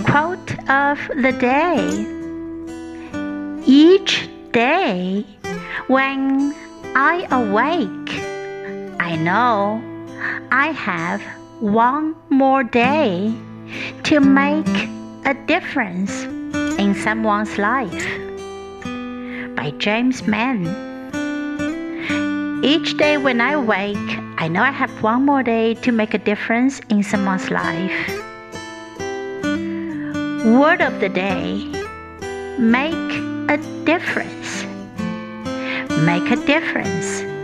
Quote of the day. Each day when I awake, I know I have one more day to make a difference in someone's life. By James Mann. Each day when I wake, I know I have one more day to make a difference in someone's life. Word of the day. Make a difference. Make a difference.